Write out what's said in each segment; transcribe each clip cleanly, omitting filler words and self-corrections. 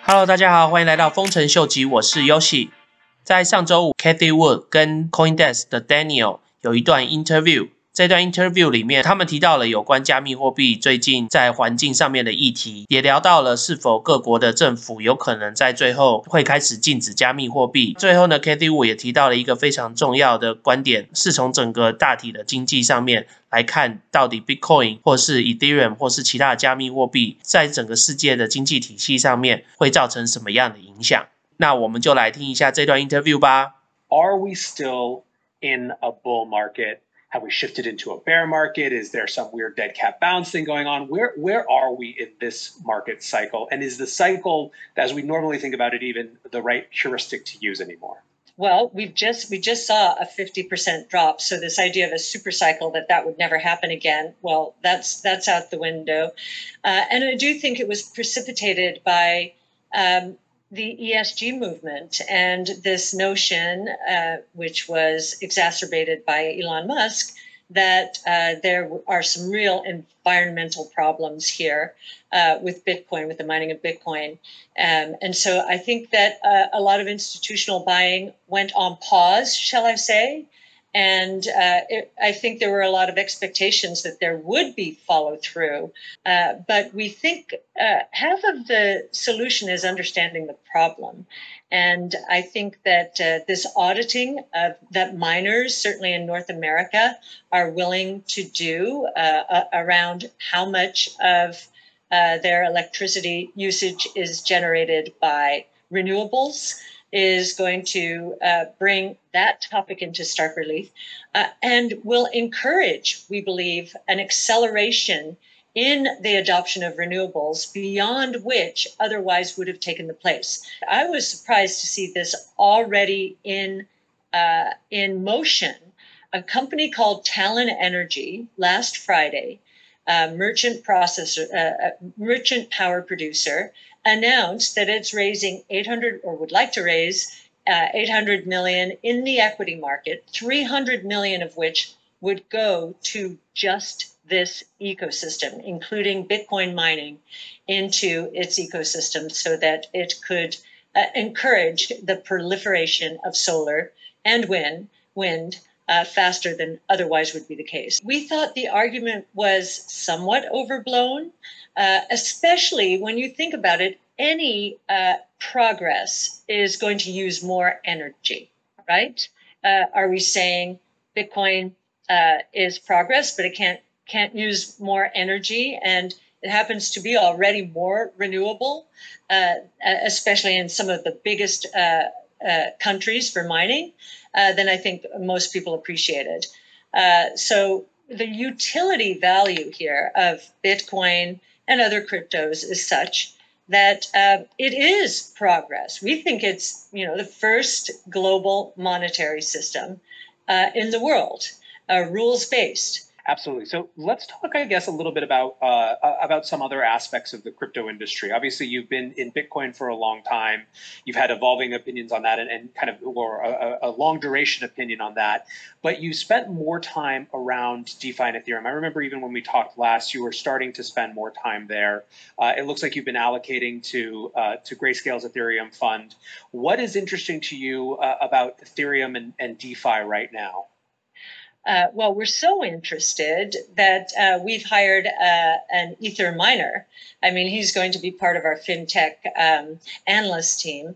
Hello， 大家好，欢迎来到丰臣秀吉，我是 Yoshi。在上周五 ，Cathy Wood 跟 CoinDesk 的 Daniel 有一段 interview。这段 interview 里面，他们提到了有关加密货币最近在环境上面的议题，也聊到了是否各国的政府有可能在最后会开始禁止加密货币。最后呢 ，Cathy Wood 也提到了一个非常重要的观点，是从整个大体的经济上面来看，到底 Bitcoin 或是 Ethereum 或是其他的加密货币，在整个世界的经济体系上面会造成什么样的影响？那我们就来听一下这段 interview 吧。 Are we still in a bull market? Have we shifted into a bear market? Is there some weird dead cat bounce thing going on? Where are we in this market cycle? And is the cycle, as we normally think about it, even the right heuristic to use anymore? Well, we just saw a 50% drop. So this idea of a super cycle that would never happen again, well, that's out the window. And I do think it was precipitated by the ESG movement and this notion, which was exacerbated by Elon Musk, that there are some real environmental problems here with Bitcoin, with the mining of Bitcoin. And so I think that a lot of institutional buying went on pause, shall I say. And I think there were a lot of expectations that there would be follow through. But we think half of the solution is understanding the problem. And I think that this auditing that miners, certainly in North America, are willing to do around how much of their electricity usage is generated by renewables is going to bring that topic into stark relief and will encourage, we believe, an acceleration in the adoption of renewables beyond which otherwise would have taken the place. I was surprised to see this already in motion. A company called Talon Energy last Friday, merchant power producer, announced that it's raising 800 or would like to raise 800 million in the equity market, 300 million of which would go to just this ecosystem, including Bitcoin mining into its ecosystem so that it could encourage the proliferation of solar and wind faster than otherwise would be the case. We thought the argument was somewhat overblown, especially when you think about it. Any progress is going to use more energy, right? Are we saying Bitcoin is progress, but it can't use more energy, and it happens to be already more renewable, especially in some of the biggest countries for mining, than I think most people appreciated. So the utility value here of Bitcoin and other cryptos is such that it is progress. We think it's the first global monetary system in the world, rules-based. Absolutely. So let's talk, I guess, a little bit about some other aspects of the crypto industry. Obviously, you've been in Bitcoin for a long time. You've had evolving opinions on that and kind of or a long duration opinion on that. But you spent more time around DeFi and Ethereum. I remember even when we talked last, you were starting to spend more time there. It looks like you've been allocating to Grayscale's Ethereum fund. What is interesting to you about Ethereum and DeFi right now? Well, we're so interested that we've hired an Ether miner. I mean, he's going to be part of our fintech analyst team.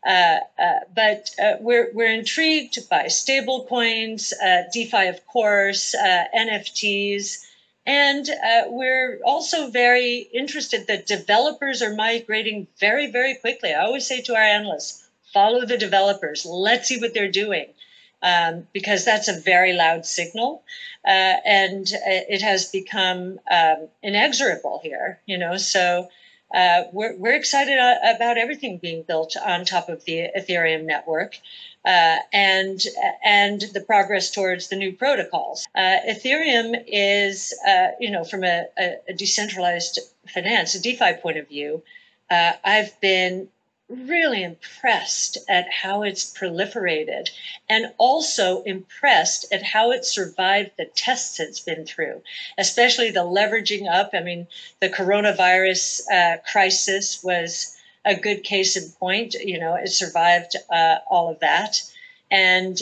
But we're intrigued by stable coins, DeFi, of course, NFTs. And we're also very interested that developers are migrating very, very quickly. I always say to our analysts, follow the developers. Let's see what they're doing. Because that's a very loud signal, and it has become inexorable here. So we're excited about everything being built on top of the Ethereum network, and the progress towards the new protocols. Ethereum is, from a decentralized finance, a DeFi point of view, I've been really impressed at how it's proliferated and also impressed at how it survived the tests it's been through, especially the leveraging up. I mean, the coronavirus crisis was a good case in point. You know, it survived all of that, and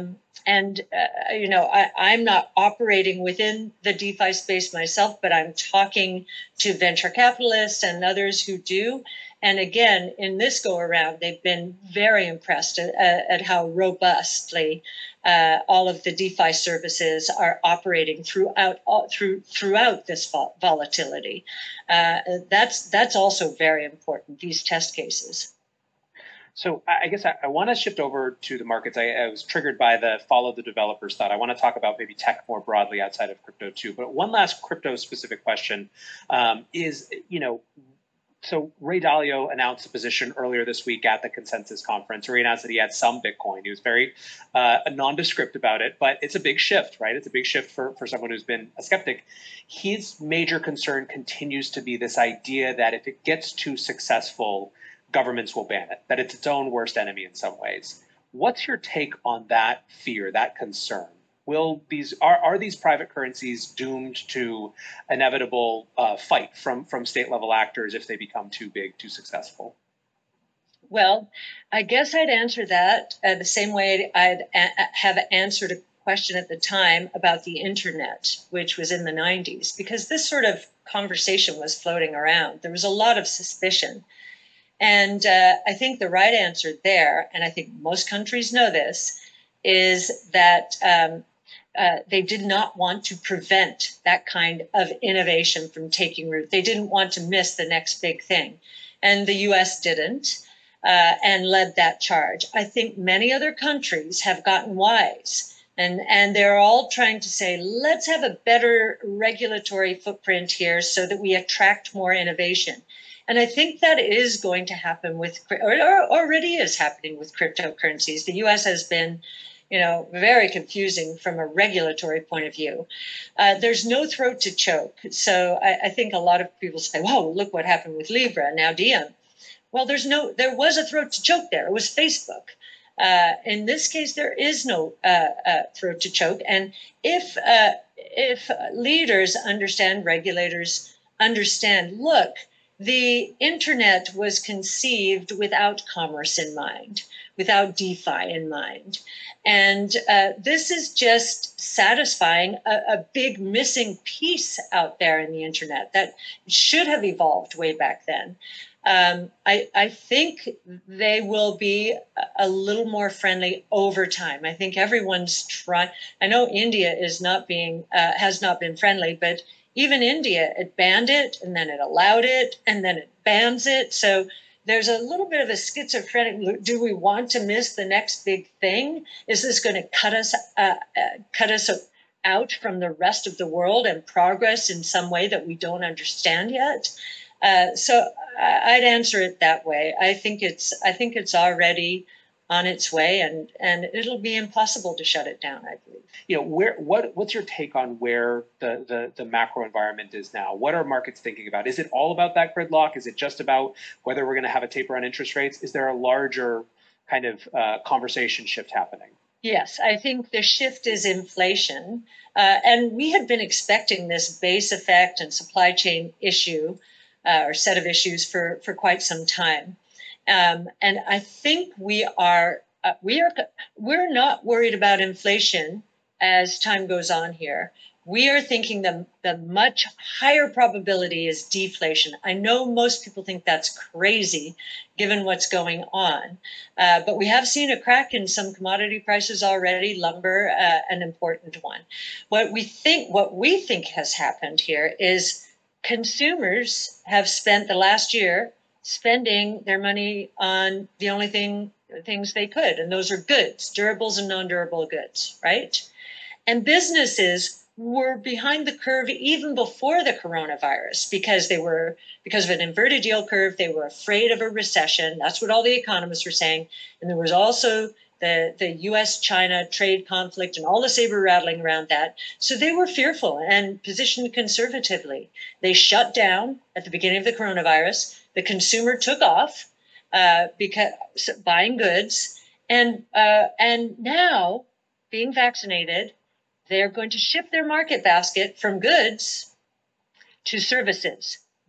you know, I'm not operating within the DeFi space myself, but I'm talking to venture capitalists and others who do. And again, in this go around, they've been very impressed at how robustly all of the DeFi services are operating throughout this volatility. That's also very important, these test cases. So I guess I want to shift over to the markets. I was triggered by the follow the developers thought. I want to talk about maybe tech more broadly outside of crypto too. But one last crypto specific question is, you know, so Ray Dalio announced a position earlier this week at the Consensus Conference, where he announced that he had some Bitcoin. He was very nondescript about it, but it's a big shift, right? It's a big shift for someone who's been a skeptic. His major concern continues to be this idea that if it gets too successful, governments will ban it, that it's its own worst enemy in some ways. What's your take on that fear, that concern? Are these private currencies doomed to inevitable fight from state level actors if they become too big, too successful? Well, I guess I'd answer that the same way I'd have answered a question at the time about the internet, which was in the 90s, because this sort of conversation was floating around. There was a lot of suspicion. And I think the right answer there, and I think most countries know this, is that they did not want to prevent that kind of innovation from taking root. They didn't want to miss the next big thing. And the US didn't and led that charge. I think many other countries have gotten wise. And they're all trying to say, let's have a better regulatory footprint here so that we attract more innovation. And I think that is going to happen with, or already is happening with cryptocurrencies. The US has been, you know, very confusing from a regulatory point of view. There's no throat to choke. So I think a lot of people say, whoa, look what happened with Libra, now Diem. Well, there was a throat to choke there. It was Facebook. In this case, there is no throat to choke. And if leaders understand, regulators understand, look, the internet was conceived without commerce in mind, without DeFi in mind. And this is just satisfying a big missing piece out there in the internet that should have evolved way back then. I think they will be a little more friendly over time. I think everyone's trying. I know India is not being has not been friendly, but even India, it banned it and then it allowed it and then it bans it. So there's a little bit of a schizophrenic. Do we want to miss the next big thing? Is this going to cut us out from the rest of the world and progress in some way that we don't understand yet? So I'd answer it that way. I think it's already on its way, and it'll be impossible to shut it down, I believe. You know, what's your take on where the macro environment is now? What are markets thinking about? Is it all about that gridlock? Is it just about whether we're going to have a taper on interest rates? Is there a larger kind of conversation shift happening? Yes, I think the shift is inflation. And we had been expecting this base effect and supply chain issue or set of issues for quite some time. And I think we're not worried about inflation as time goes on here. We are thinking the much higher probability is deflation. I know most people think that's crazy given what's going on, but we have seen a crack in some commodity prices already, lumber, an important one. What we think has happened here is consumers have spent the last year spending their money on the only things they could, and those are goods, durables and non-durable goods, right? And businesses were behind the curve even before the coronavirus because of an inverted yield curve. They were afraid of a recession. That's what all the economists were saying. And there was also the U.S.-China trade conflict and all the saber rattling around that. So they were fearful and positioned conservatively. They shut down at the beginning of the coronavirus. The consumer took off because buying goods, and now being vaccinated, they're going to shift their market basket from goods to services.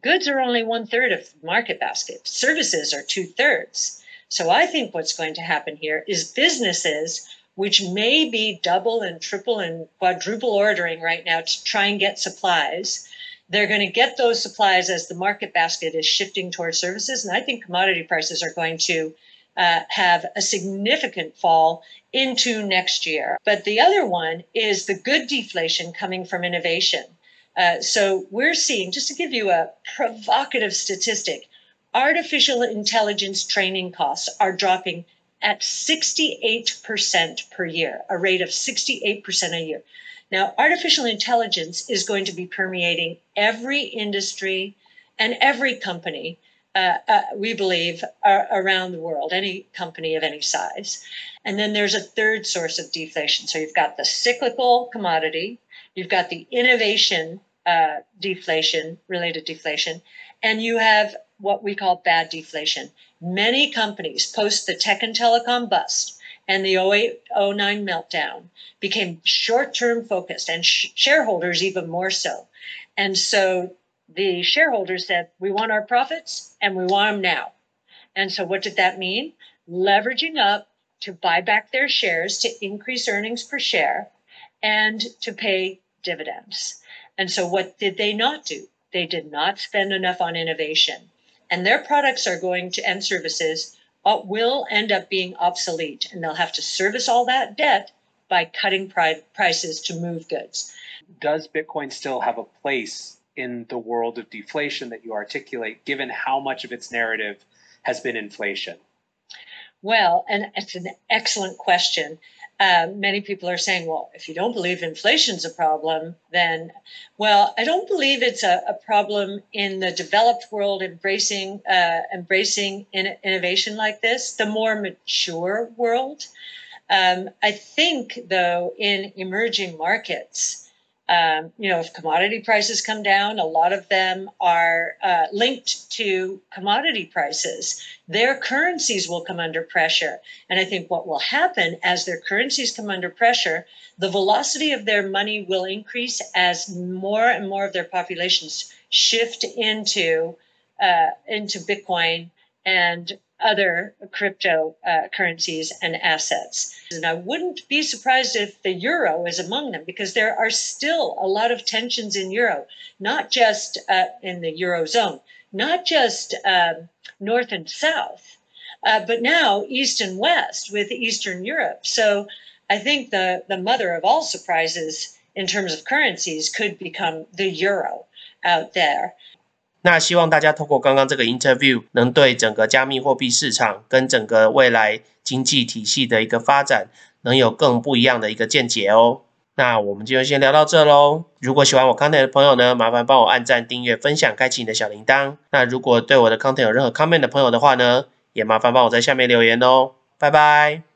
Goods are only 1/3 of the market basket. Services are 2/3. So I think what's going to happen here is businesses, which may be double and triple and quadruple ordering right now to try and get supplies, they're going to get those supplies as the market basket is shifting towards services. And I think commodity prices are going to have a significant fall into next year. But the other one is the good deflation coming from innovation. So we're seeing, just to give you a provocative statistic, artificial intelligence training costs are dropping at 68% per year, a rate of 68% a year. Now, artificial intelligence is going to be permeating every industry and every company, we believe, around the world, any company of any size. And then there's a third source of deflation. So you've got the cyclical commodity, you've got the innovation deflation, related deflation, and you have what we call bad deflation. Many companies post the tech and telecom bust and the 08-09 meltdown became short-term focused, and shareholders even more so. And so the shareholders said, we want our profits and we want them now. And so what did that mean? Leveraging up to buy back their shares to increase earnings per share and to pay dividends. And so what did they not do? They did not spend enough on innovation. And their products are going to, and services will end up being obsolete. And they'll have to service all that debt by cutting prices to move goods. Does Bitcoin still have a place in the world of deflation that you articulate, given how much of its narrative has been inflation? Well, and it's an excellent question. Many people are saying, well, if you don't believe inflation's a problem, then, well, I don't believe it's a problem in the developed world embracing innovation like this, the more mature world. I think, though, in emerging markets, if commodity prices come down, a lot of them are linked to commodity prices. Their currencies will come under pressure. And I think what will happen as their currencies come under pressure, the velocity of their money will increase as more and more of their populations shift into Bitcoin and other crypto currencies and assets. And I wouldn't be surprised if the euro is among them, because there are still a lot of tensions in euro, not just in the Eurozone, not just North and South, but now East and West with Eastern Europe. So I think the mother of all surprises in terms of currencies could become the euro out there. 那希望大家透过刚刚这个 interview 能对整个加密货币市场跟整个未来经济体系的一个发展能有更不一样的一个见解哦。那我们就先聊到这咯。如果喜欢我 content 的朋友呢，麻烦帮我按赞、订阅、分享、开启你的小铃铛。那如果对我的 content 有任何 comment 的朋友的话呢，也麻烦帮我在下面留言哦。拜拜。